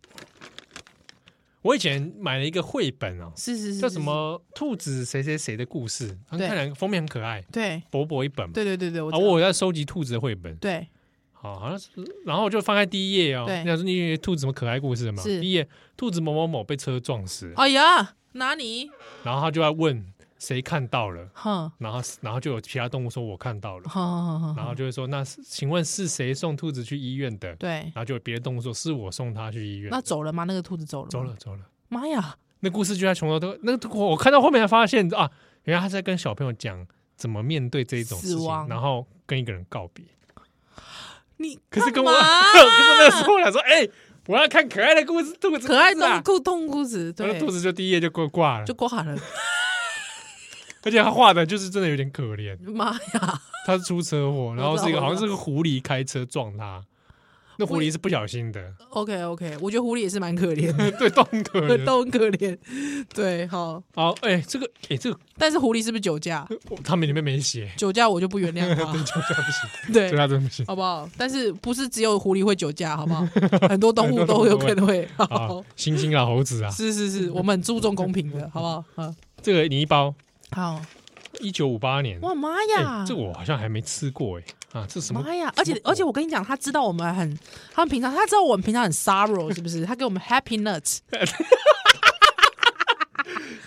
我以前買了一個繪本哦， 是是是， 叫什麼兔子誰誰誰的故事，看起來封面很可愛，對，薄薄一本嘛， 對對對對， 啊，我有在收集兔子的繪本， 對， 好，好像是，然後我就翻開第一頁哦，你想說你兔子什麼可愛故事嘛？第一頁，兔子某某某被車撞死， 哎呀，哪裡？ 然後他就要問誰看到了， 哼， 然後然後就有其他動物說我看到了， 哼， 然後就會說那請問是誰送兔子去醫院的？對，然後就有別的動物說是我送他去醫院， 那走了嗎？那個兔子走了嗎？ 走了，走了。 媽呀！ 那故事就在從頭都那個，我看到後面才發現啊，原來他在跟小朋友講怎麼面對這一種事情，然後跟一個人告別。你可是跟我，可是那時候我想說，哎、欸，我要看可愛的故事，兔子、啊、 可愛的兔動故事，對， 兔子就第一頁就掛掛了， 就掛了。 而且他畫的就是真的有點可憐。 媽呀！他是出車禍，然後是一個好像是個狐狸開車撞他。那狐狸是不小心的。OK OK， 我覺得狐狸也是蠻可憐的， 對，都很可憐， 都很可憐。對，好， 好，哎、欸，這個，哎、欸，這個，但是狐狸是不是酒駕？ 他們裡面沒寫酒駕，我就不原諒他。 對，酒駕不行， 對， 酒駕真的不行， 好不好？但是不是只有狐狸會酒駕，好不好？很多動物都有可能會。好， 猩猩啊，猴子啊， 是是是，我們很注重公平的，好不好？好， 這個你一包， 好， 一九五八年， 哇媽呀、欸， 這個我好像還沒吃過哎。啊，這什麼？媽呀！而且而且，我跟你講，他知道我們很，他們平常他知道我們平常很 sorrow，是不是？他給我們 happy nuts，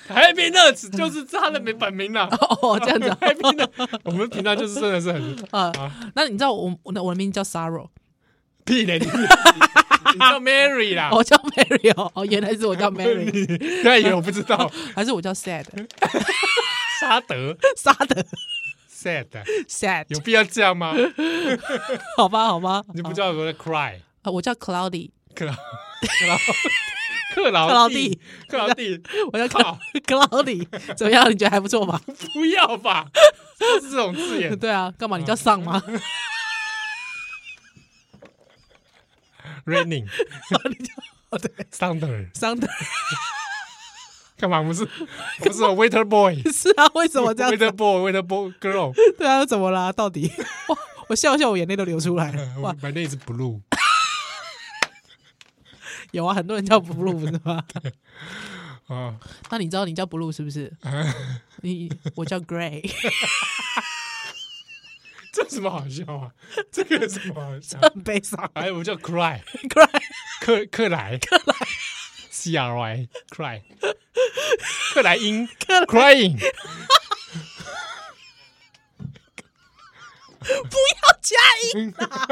Happy Nuts 就是他的本名啦。 哦，這樣子。 Happy Nuts， 我們頻道就是真的是很啊。那你知道我我的我的名字叫 Sorrow？ 屁嘞，你你叫 Mary 啦。 我叫 Mary 哦，哦，原来是我叫 Mary。 他以為我不知道， 還是我叫 Sad？ 沙德， 沙德。 Sad sad 有必要這樣嗎？ 好吧，好吧， 你不叫我在 cry 啊？我叫 Cloudy， 克勞克勞蒂，克勞蒂， 我叫 Cloudy， 怎麼樣？你覺得還不錯吧？ 不要吧，都是這種字眼。 對啊，幹嘛？你叫上嗎 ？Raining， 你叫哦对 ，Thunder Thunder， 幹嘛不是？不是 Waiter Boy？ 是啊，為什麼這樣 ？Waiter Boy，Waiter Boy Girl。 對啊，怎麼啦？到底？哇，我笑笑，我眼淚都流出來了。哇 ，My name is Blue。 有啊，很多人叫 Blue 不是嗎？ 啊， 那你知道你叫 Blue 是不是？你我叫 Gray。 這有什麼好笑啊？這個有什麼好笑？ 很悲傷。 哎，我叫 Cry Cry， 克克萊克萊 C R Y Cry， 克萊因 Crying。 不要加音啦！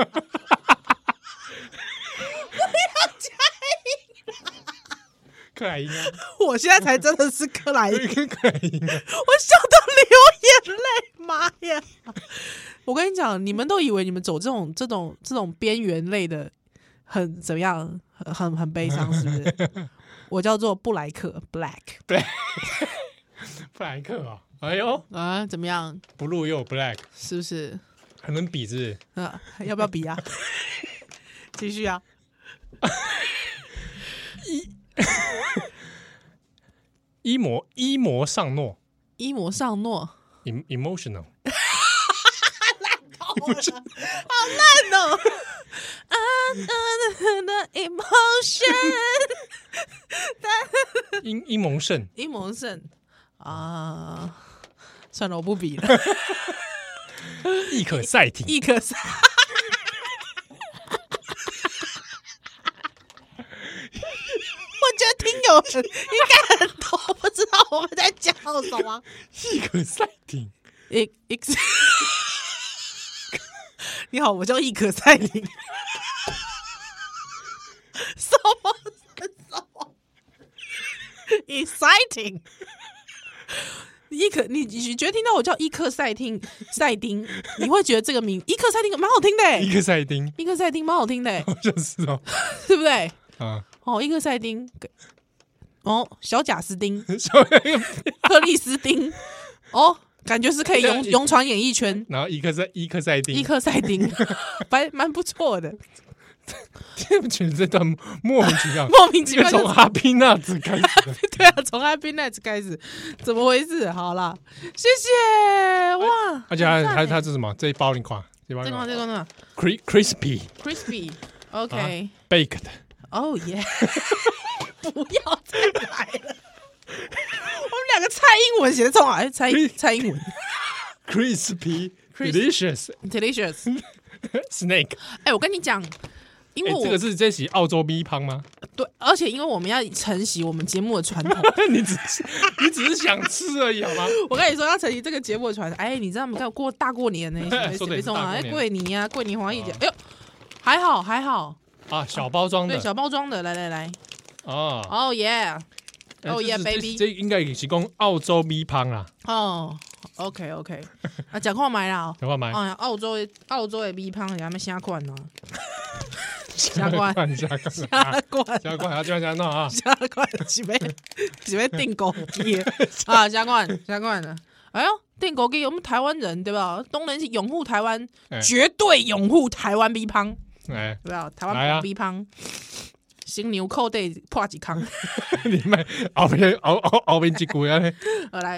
不要加音啦！ 克萊因啊！ 我現在才真的是克萊因， 克萊因啊！ 我笑到流眼淚，媽呀！我跟你講，你們都以為你們走這種這種這種邊緣類的，很怎麼樣，很很很悲傷，是不是？我叫做布萊克 （Black）。 Black， 布萊克啊！哎呦啊，怎麼樣 ？Blue 又有 Black， 是不是？ 還能比是不是？ 啊，要不要比啊？繼續啊！ 伊伊摩伊摩尚諾， 伊摩尚諾 ，emotional。 好爛哦 ！emotion， 英英蒙聖， 英蒙聖啊，算了，我不比了。 易可賽艇， 易可賽。我覺得聽友們應該很多不知道我們在講什麼。 易可賽艇， 一一。你好，我叫易可賽艇。什麼？什麼 ？Exciting！ 伊可，你你覺得聽到我叫伊克賽汀賽丁，你會覺得這個名伊克賽汀蠻好聽的、欸？伊克賽丁，伊克賽丁蠻好聽的、欸， 好像是哦， 對不對？ 啊， 哦，伊克賽丁，哦，小賈斯汀，克里斯汀，哦。感覺是可以勇勇闖演藝圈， 然後伊克賽伊克賽丁， 伊克賽丁，蠻蠻不錯的。 聽不覺得這段莫名其妙， 莫名其妙， 從 Happy Nuts 開始， 對啊，從 Happy Nuts 開始，怎麼回事？好啦，謝謝哇！ 而且還還它是什麼？這一包你看，這包這個這個呢 ？Crispy，crispy，OK，baked，Oh yeah，不要再來了。我們兩個猜英文寫的超好，哎，猜猜英文 ，crispy delicious delicious snake。 哎，我跟你講，因為我、 欸、這個是這是澳洲米香嗎？ 對，而且因為我們要承襲我們節目的傳統， 你只是你只是想吃而已，好嗎？ 我跟你說，要承襲這個節目的傳統。哎，你知道我們剛過大過年呢， 說的是大過年， 哎，過年啊，過年黃奕節，哎呦，還好還好啊，小包裝的， 對，小包裝的，來來來， 哦， 哦耶。哦耶，baby！ 這應該也是講澳洲米香啦。 哦 ，OK OK， 啊，講看買啦， 講看買。 哎，澳洲的澳洲的米香，有咩啥款呢？啥款？ 啥款？ 啥款？ 啥款？啊，這樣這樣弄啊！ 啥款？是要是要訂購機啊？啥款？啥款的？哎呦，訂購機，我們台灣人對吧？東人是擁護台灣，絕對擁護台灣米香， 哎， 對吧？台灣米香。新牛扣得破幾坑， 你們後面後後後面一句啊！ 我來，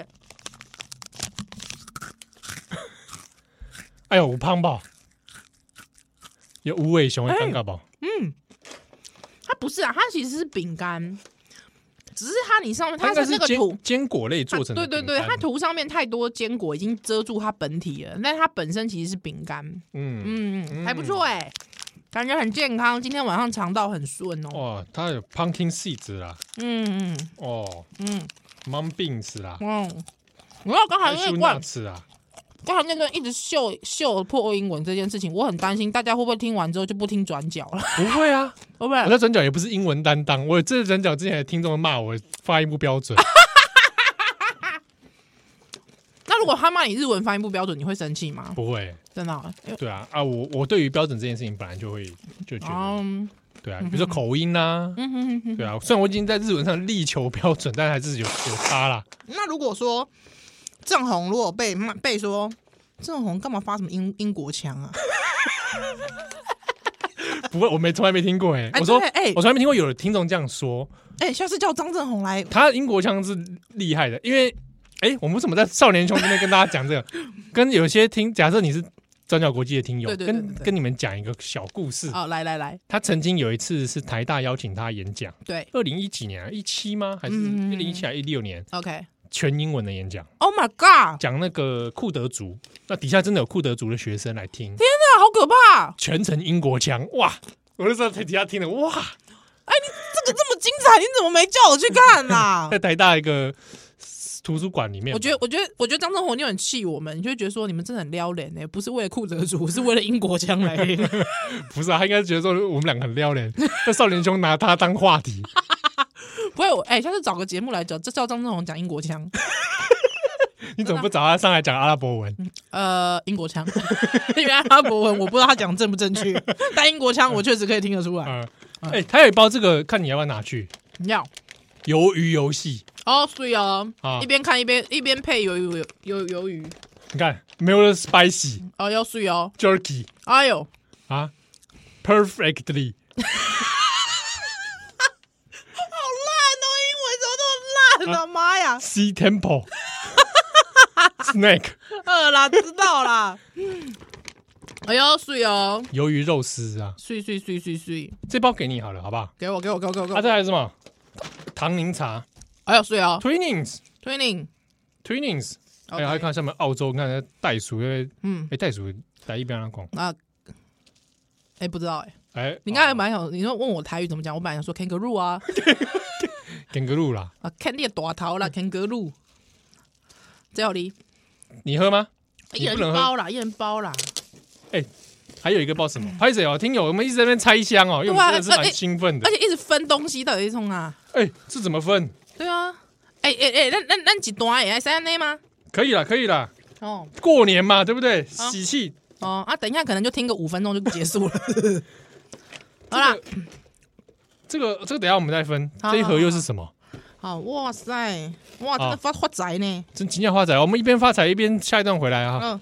哎呦，有胖吧？有無尾熊的感覺吧？ 嗯，它不是啊，它其實是餅乾，只是它你上面它是那個土堅果類做成的， 對對對，它塗上面太多堅果已經遮住它本體了，但它本身其實是餅乾，嗯嗯，還不錯哎、欸。感覺很健康，今天晚上腸道很順哦。 哇，它有 pumpkin seeds 啦。 嗯嗯。 哦， 嗯， mung beans 啦， 嗯，我要剛才那段吃啊， 剛才那段一直秀秀破英文這件事情，我很擔心大家會不會聽完之後就不聽轉角了？ 不會啊， 會不會？ 我在轉角也不是英文擔當，我這轉角之前的聽眾罵我發音不標準。 那如果他罵你日文發音不標準，你會生氣嗎？ 不會， 真的、哦。 對啊啊，我我對於標準這件事情本來就會就覺得，嗯、對啊，比如說口音啊，嗯、哼哼哼對啊，雖然我已經在日文上力求標準，但還是有有差啦。 那如果說鄭紅如果被罵被說鄭紅幹嘛發什麼英英國腔啊？ 不會，我沒從來沒聽過哎、欸。我說哎，欸、我從來沒聽過有的聽眾這樣說。哎、 欸，下次叫張正紅來， 他英國腔是厲害的，因為。哎、欸，我們為什麼在少年兄這邊跟大家講這個？跟有些聽，假設你是轉角國際的聽友，對對對對對跟跟你們講一個小故事。哦，來來來，他曾經有一次是台大邀請他演講，對，二零一幾年啊，一七嗎？還是二零一七還是一六年 ？OK，全英文的演講。Oh my god！講那個庫德族，那底下真的有庫德族的學生來聽。天哪，好可怕！全程英國腔，哇！我就在底下聽了，哇！哎，你這個這麼精彩，你怎麼沒叫我去看啊？在台大一個圖書館裡面，我覺得，我覺得，我覺得張正宏你很氣我們，你就會覺得說你們真的很撩人呢，不是為了庫德族，是為了英國腔來。不是啊，他應該覺得說我們兩個很撩人，那少年兄拿他當話題。不會，哎、欸，下次找個節目來講，這叫張正宏講英國腔。你怎麼不找他上來講阿拉伯文？呃，英國腔，因為阿拉伯文我不知道他講正不正確，但英國腔我確實可以聽得出來。哎、嗯欸，他有一包這個，看你要不要拿去？要。魷魚遊戲哦，所以哦，啊、一邊看一邊一邊配魷魚魷魷魚。你看，沒有了 spicy 哦，要水哦 ，jerky。哎呦啊 ，perfectly。好爛哦，英文怎麼這麼爛啊？媽呀 ！Sea temple，snake。呃啦，知道啦。哎呦，水哦，魷魚肉絲啊，水水水水水。這包給你好了，好不好？給我，給我，給我，給我。啊，這還有什麼？唐寧茶，哎呀，水啊 ，Twinings，Twinings，Twinings， 哎呀，還看上面澳洲，你看袋鼠，因為嗯，哎，袋鼠在一邊上講啊，哎，不知道哎，哎，你剛才蠻想，你說問我台語怎麼講，我本來想說 kangaroo 啊 ，kangaroo 啦，啊，看你的大頭啦 ，kangaroo，這裡你喝嗎？一人包啦，一人包啦，哎。還有一個不知道什麼，拍誰哦？聽友，我們一直在那邊拆箱哦，因為我們真的是蠻興奮的，而且一直分東西，到底是從啊？哎，這怎麼分？對啊，哎哎哎，那那那幾段哎，三內嗎？可以了，可以了。哦，過年嘛，對不對？喜氣哦啊！等一下，可能就聽個五分鐘就結束了。好啦，這個這個，等一下我們再分。這一盒又是什麼？好，哇塞，哇，真的發發財呢！真今天發財，我們一邊發財一邊下一段回來啊。嗯。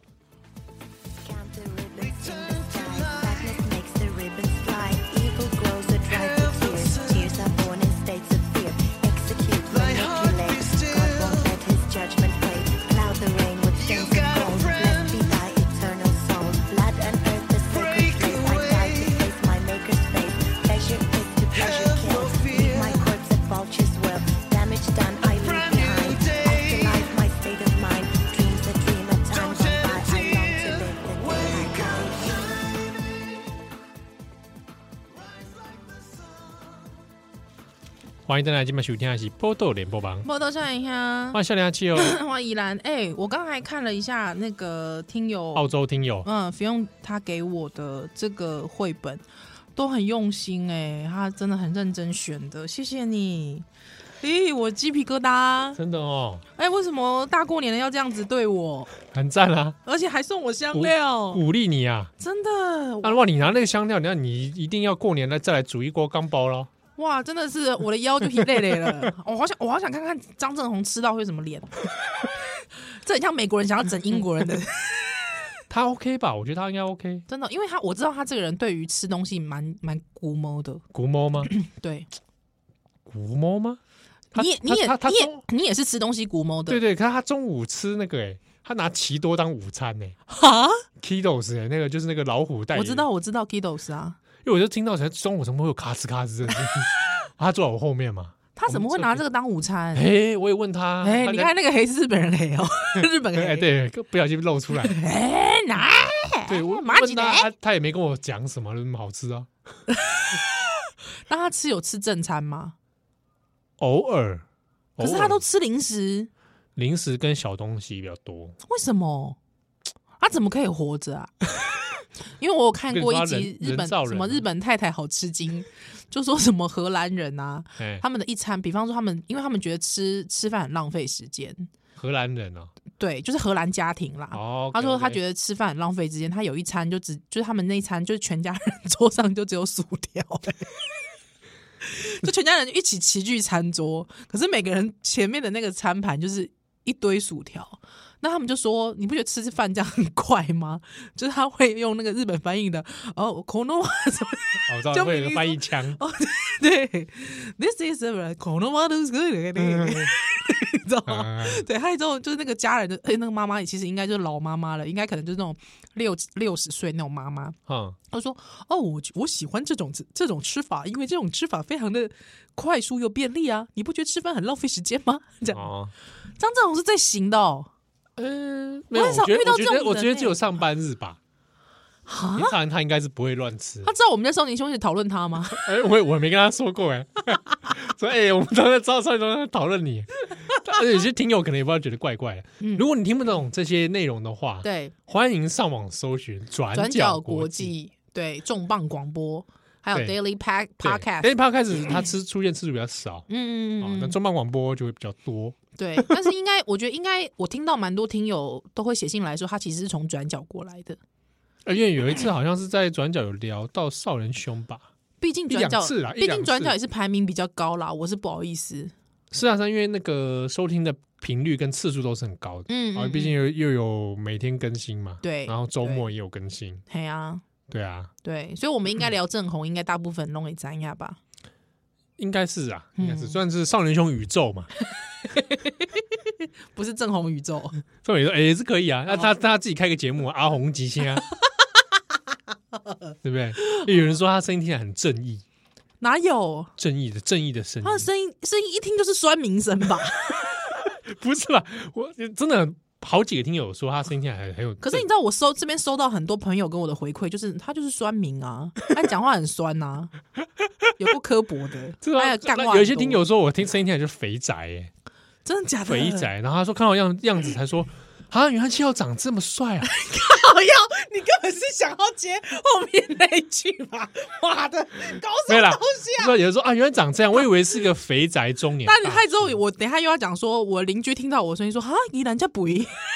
歡迎大家今晚收聽的是《波豆聯播榜》。波豆笑一下，歡迎笑臉阿七哦，歡迎宜蘭。哎，我剛才看了一下那個聽友，澳洲聽友，嗯，不用他給我的這個繪本都很用心哎，他真的很認真選的，謝謝你。咦，我雞皮疙瘩，真的哦。哎，為什麼大過年的要這樣子對我？很讚啊，而且還送我香料，鼓勵你啊，真的。那如果你拿那個香料，那你一定要過年了再來煮一鍋缸包咯。哇，真的是我的腰就疲累累了，我好想，我好想看看張正宏吃到會什麼臉。這很像美國人想要整英國人的。他 OK 吧？我覺得他應該 OK。真的，因為他我知道他這個人對於吃東西蠻蠻龜毛的。龜毛嗎？對，龜毛嗎？你也你也你也你也是吃東西龜毛的。對對，可是他中午吃那個哎、欸，他拿奇多當午餐哎、欸。哈 Kidos 哎、欸，那個就是那個老虎代言。我知道我知道 Kidos 啊。因為我就聽到才中午怎麼會有咔吱咔吱的，他坐在我後面嘛，他怎麼會拿這個當午餐？哎，我也問他，哎，你看那個黑是日本人黑哦，日本黑，對，不小心露出來，哎，哪？對，我問他，他也沒跟我講什麼，那麼好吃啊。那他吃有吃正餐嗎？偶爾， 可是他都吃零食， 零食跟小東西比較多。 為什麼？他怎麼可以活着啊？因為我有看過一集日本什麼日本太太好吃驚，就說什麼荷蘭人啊，他們的一餐，比方說他們，因為他們覺得吃吃飯很浪費時間。荷蘭人哦，對，就是荷蘭家庭啦。哦，他說他覺得吃飯很浪費時間，他有一餐就只就是他們那一餐就是全家人桌上就只有薯條，就全家人一起齊聚餐桌，可是每個人前面的那個餐盤就是一堆薯條。那他們就說，你不覺得吃飯這樣很怪嗎？就是他會用那個日本翻譯的哦，可能什麼，就會有個翻譯腔。哦，對 ，This is a 可能嗎？都是你知道嗎？對，還有之後就是那個家人的，哎，那個媽媽其實應該就是老媽媽了，應該可能就是那種六六十歲那種媽媽。嗯，他說哦，我我喜歡這種這種吃法，因為這種吃法非常的快速又便利啊！你不覺得吃飯很浪費時間嗎？這樣，哦，張正宏是在行的哦。嗯，沒有，我覺得我覺得我覺得只有上班日吧。平常他應該是不會亂吃。他知道我們在少年兄弟討論他嗎？哎、欸，我我沒跟他說過哎。所以哎、欸，我們都在知道少年兄弟討論你。而且有些聽友可能也不知道，覺得怪怪的。嗯、如果你聽不懂這些內容的話，對，歡迎上網搜尋轉角國際，對，重磅廣播，還有 Daily Pack Podcast。Daily Podcast 它吃出現次數比較少，嗯嗯嗯，那重磅廣播就會比較多。對，但是應該，我覺得應該，我聽到蠻多聽友都會寫信來說，他其實是從轉角過來的。因為有一次好像是在轉角有聊到少年兄吧，畢竟轉角是啦，畢竟轉角也是排名比較高啦，我是不好意思。是啊，是因為那個收聽的頻率跟次數都是很高的，嗯，啊，畢竟又又有每天更新嘛，對，然後周末也有更新，對啊，對啊，對，所以我們應該聊正紅，應該大部分弄一沾一下吧。應該是啊，應該是算是少年兄宇宙嘛，不是正紅宇宙。少年兄也是可以啊，那他他自己開個節目，阿紅極星啊，對不對？有人說他聲音聽起來很正義，哪有正義的正義的聲音？他的聲音聲音一聽就是酸民聲吧？不是吧？我真的很。好幾個聽友說他聲音聽起來很很有，可是你知道我收這邊收到很多朋友跟我的回饋，就是他就是酸民啊，他講話很酸啊，有夠刻薄的，還有幹話。有一些聽友說我聽聲音聽起來就是肥宅，哎，真的假的？肥宅，然後他說看到樣樣子才說啊，原來七號長這麼帥啊！靠腰，你根本是想要接後面那一句吧？媽的，搞什麼東西啊？說有人說啊，原來長這樣，我以為是個肥宅中年。但你太之後，我等一下又要講說，我鄰居聽到我聲音說啊，宜蘭這肥，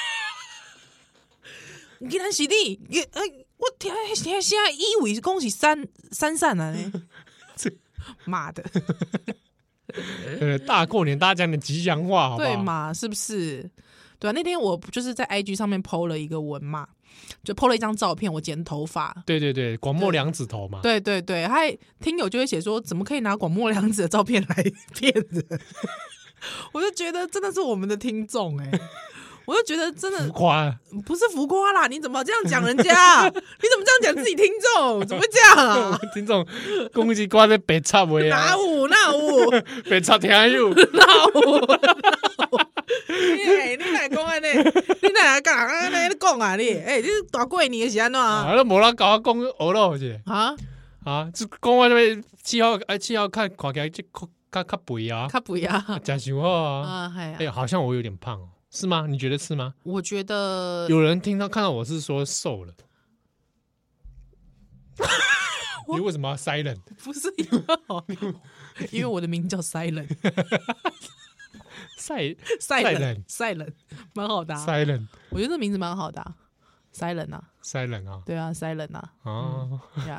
宜蘭是你，哎，我聽現在現在以為恭喜三三散啊！媽的，呃，大過年大家講點吉祥話，好不好？對嘛？是不是？對啊，那天我就是在 I G 上面 po 了一個文嘛，就 po 了一張照片，我剪頭髮。對對對，廣末涼子頭嘛。對對對，還聽友就會寫說，怎麼可以拿廣末涼子的照片來騙人？我就覺得真的是我們的聽眾哎、欸，我就覺得真的浮誇，不是浮誇啦！你怎麼這樣講人家？你怎麼這樣講自己聽眾？怎麼會這樣啊？聽眾攻擊掛在白插尾啊！哪有哪有白插聽有哪有？你你來講安尼，你來講安尼你講啊你？誒，你大過年是安怎啊？啊，無人甲我講學咯是？啊啊，就講我這邊七號哎七號看看起來就較較肥啊，較肥啊，真想好啊啊係啊！哎，好像我有點胖哦，是嗎？你覺得是嗎？我覺得有人聽到看到我是說瘦了，你為什麼要 silent？ 不是因為因為我的名叫 silent。賽賽冷賽冷蠻好的，Silent，我覺得這名字蠻好的，Silent啊，Silent啊，對啊，Silent啊，哦，呀，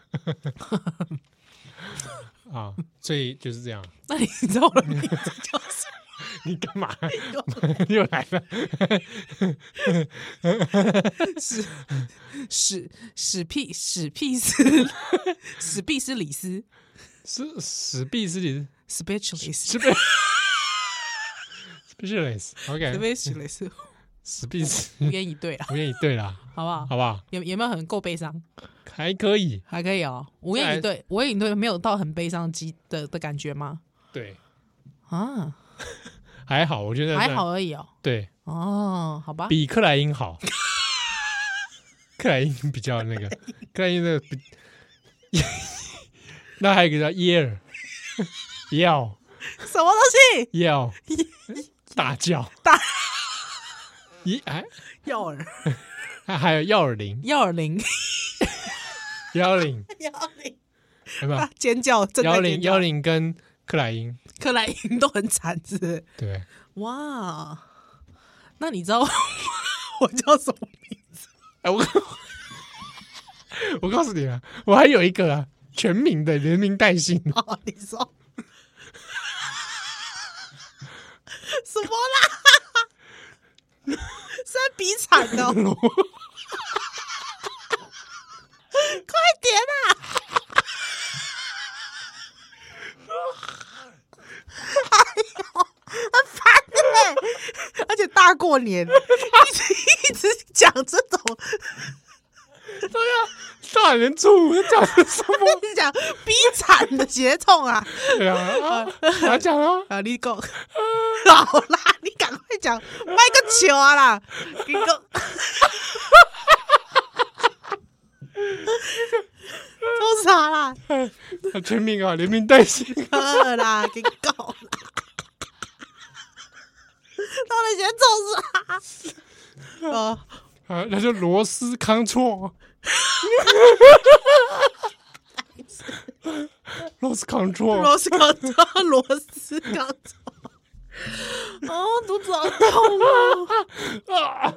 啊，所以就是這樣。那你知道我的名字叫什麼？你幹嘛？又來了？史史史屁史屁斯史畢斯里斯，是史畢斯里斯 ，Specialist。Specialist，OK，Specialist，史畢斯，無言以對啦，無言以對啦，好不好？好不好？有有沒有很夠悲傷？還可以，還可以哦。無言以對，無言以對，沒有到很悲傷的的的感覺嗎？對，啊，還好，我覺得還好而已哦。對，哦，好吧，比克萊因好，克萊因比較那個，克萊因那個比，那還有一個叫耶爾，耶爾。 什麼東西？ 要大叫大咦哎， 耀耳還還有耀耳鈴， 耀耳鈴， 幺零耀铃， 有没有？ 尖叫，正在幺尖叫零幺零跟克萊因， 克萊因都很慘，是不是？ 對， 哇，那你知道我叫什麼名字？ 哎，我我告訴你啊，我還有一個啊，全名的連名帶姓。 哦，你說什麼啦？是在比慘的哦，快點啊！哎呦，很煩哎！而且大過年，一直一直講這種， 對呀，大年初五講的什麼？ 你講比慘的血統啊！ 對啊，我講啊， 啊，你講好啦，你趕快講，賣個球啊啦！你講，都啥啦？ 全名啊，連名帶姓。 好啦，給夠啦！到底先做啥？啊啊，那就羅斯康錯。羅斯康錯， 螺絲剛錯，螺絲剛錯。哦，肚子好痛啊！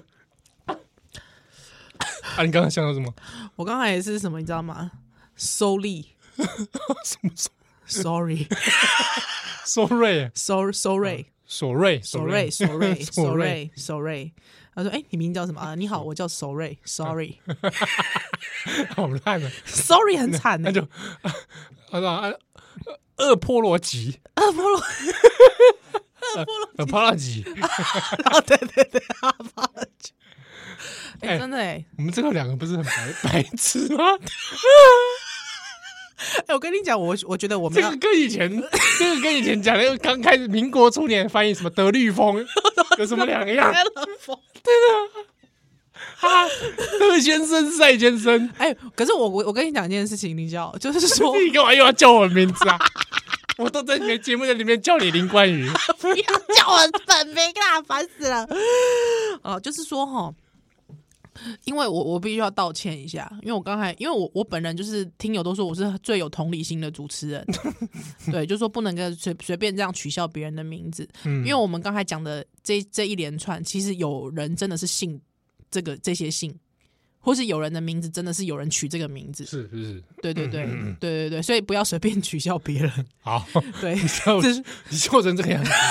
啊，你剛剛想到什麼？ 我剛才也是什麼，你知道嗎？Sorry， 什麼 ？Sorry， 索瑞， So Sorry， 索瑞， 索瑞，索瑞，索瑞，索瑞。他說：“哎，你名叫什麼啊？你好，我叫 Sorry，Sorry， 好爛啊 Sorry 很慘那就他說啊，厄波羅吉， 厄波羅，厄波羅， 厄波羅吉， 啊，對對對，厄波羅吉。哎，真的哎， 我們這個兩個不是很白白痴嗎？ 哎，我跟你講，我我覺得我們這個跟以前，這個跟以前講的剛開始民國初年翻譯什麼德律風有什麼兩樣？對的，啊，德先生、賽先生。 哎，可是我我我跟你講一件事情，你知道，就是說你幹嘛又要叫我名字啊？我都在你的節目在裡面叫你林冠宇， 不要叫我本名啦，煩死了。哦，就是說哈。因為我我必須要道歉一下，因為我剛才因為我我本人就是聽友都說我是最有同理心的主持人，對，就是說不能跟隨隨便這樣取笑別人的名字，嗯，因為我們剛才講的這這一連串，其實有人真的是姓這個這些姓，或是有人的名字真的是有人取這個名字，是是是， 對對對、 嗯嗯、 對對對，所以不要隨便取笑別人。 好， 對， 你笑你笑成這個樣子。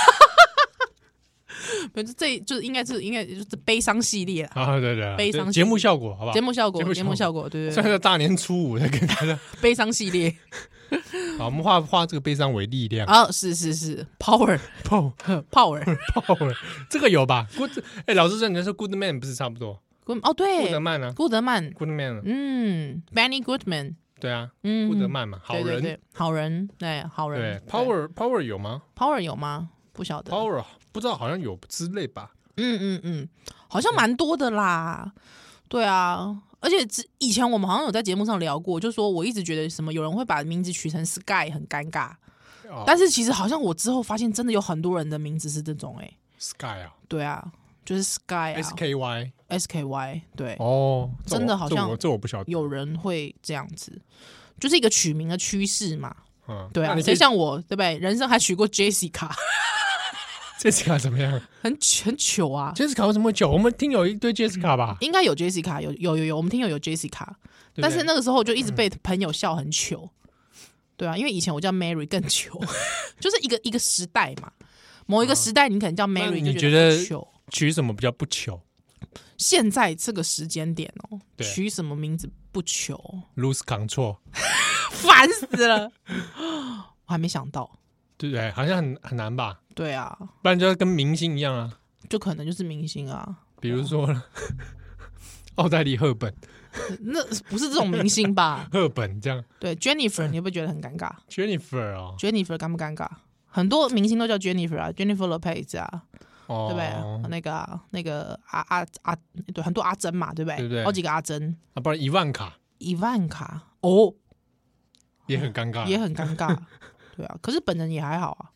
這就是應該是應該就是悲傷系列啦， 啊對對， 悲傷節目效果好不好？ 節目效果，節目效果，對對， 現在大年初五在跟大家悲傷系列， 好，我們化化這個悲傷為力量啊，是是是 ，power power power power， 這個有吧 ？Good， 哎，老師說你說 Good Man 不是差不多 ？Good 哦，對， 顧德曼啊， 顧德曼 ，Good Man， 嗯 ，Benny Goodman， 對啊， 嗯， 顧德曼嘛，好人， 好人，對，好人， 對 ，Power Power 有嗎 ？Power 有嗎？不曉得 ，Power 不知道，好像有之類吧。 嗯嗯嗯，好像蠻多的啦，對啊，而且以前我們好像有在節目上聊過，就說我一直覺得什麼有人會把名字取成 Sky 很尷尬，哦、但是其實好像我之後發現真的有很多人的名字是這種哎、欸、 ，Sky 啊， 對啊，就是 Sky 啊 ，S K Y S K Y 對， 哦， 真的好像這我，這我不曉得， 有人會這樣子，就是一個取名的趨勢嘛， 嗯， 對啊，所以像我對不對？人生還取過 Jessica。 Jessica 怎麼樣？ 很很糗啊 ！Jessica 為什麼會糗？我們聽友一堆 Jessica 吧？ 應該有 Jessica， 有有有有，我們聽友有 Jessica， 對對，但是那個時候就一直被朋友笑很糗，嗯、對啊，因為以前我叫 Mary 更糗，就是一個一個時代嘛，某一個時代你可能叫 Mary 就覺得糗， 取什麼比較不糗？ 現在這個時間點哦，取什麼名字不糗 ？Lose control， 煩死了，我還沒想到。 對不對？好像很很難吧？ 對啊， 不然就要跟明星一樣啊， 就可能就是明星啊， 比如說奧黛麗·赫本， 那不是這種明星吧？ 赫本這樣，對 Jennifer， 你會不會覺得很尷尬 ？Jennifer 哦 ，Jennifer 尷不尷尬？很多明星都叫 Jennifer 啊 ，Jennifer Lopez 啊， 哦、 對不對？那個、啊、那個阿阿阿，對，很多阿珍嘛，對不對？ 對不對？ 好幾個阿珍啊，不然伊萬卡， 伊萬卡哦， 也很尷尬， 也很尷尬。對啊，可是本人也還好啊。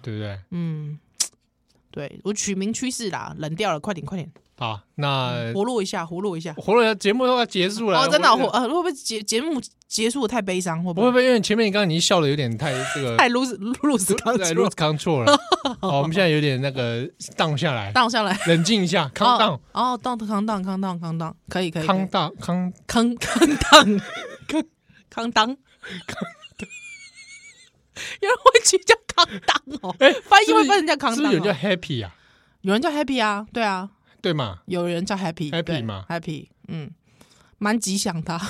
對不對？ 嗯，對我取名趨勢啦，冷掉了，快點快點。 好，那活絡一下，活絡一下， 活絡一下，節目都要結束了。 哦，真的，我呃，會不會節節目結束的太悲傷？會不會？ 不會不會，因為前面你剛剛已經笑的有點太這個太 lose lose lose control 了。好，我們現在有點那個 down 下來 ，down 下來， 冷靜一下 ，calm down。 哦，down calm down calm down calm down，可以可以。 calm down calm calm calm down calm down。有人會取叫康當哦，哎，翻譯會翻成叫康當， 是不是有人叫 happy 啊？ 有人叫 happy 啊，對啊。 對嘛？ 有人叫 happy happy 嘛 ，happy， 嗯，蠻吉祥的。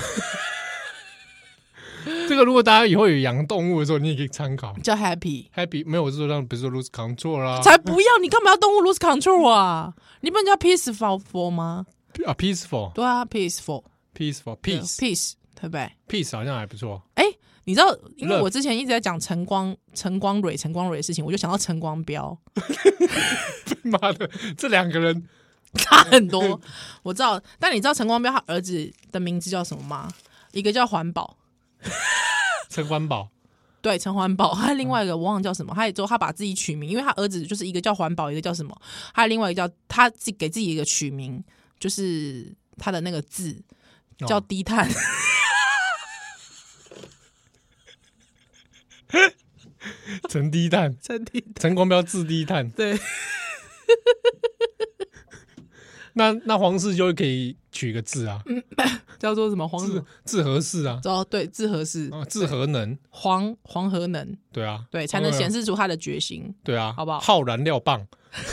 這個如果大家以後有養動物的時候，你也可以參考。叫 happy happy 沒有，我是說讓，比如說 lose control 啦， 才不要！你幹嘛要動物 lose control 啊？你不能叫 peaceful 嗎？ 啊 ，peaceful， 對啊 ，peaceful，peaceful peace peace， 對不對 ？peace 好像還不錯。 哎，你知道，因為我之前一直在講陳光、陳光蕊、陳光蕊的事情，我就想到陳光標。 媽的，這兩個人。 差很多，我知道，但你知道陳光標他兒子的名字叫什麼嗎？一個叫環保， 陳環保， 對，陳環保。還有另外一個我忘了叫什麼，他也之後他把自己取名，因為他兒子就是一個叫環保，一個叫什麼，還有另外一個叫他自己給自己一個取名，就是他的那個字叫低碳。哦陳低碳， 陳低碳， 陳光標字低碳， 對。 那那黃氏就可以取個字啊， 嗯、叫做什麼黃字字合氏啊？ 哦，對，字合氏， 哦，字合能， 黃黃和能， 對啊， 對，才能顯示出他的決心， 對啊， 好不好？ 耗燃料棒，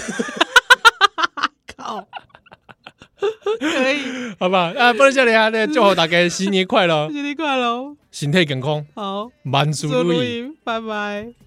靠，可以， 好吧？啊，不能這裡啊，那祝福大家新年快樂， 新年快樂， 身體健康， 好， 萬事如意， 拜拜。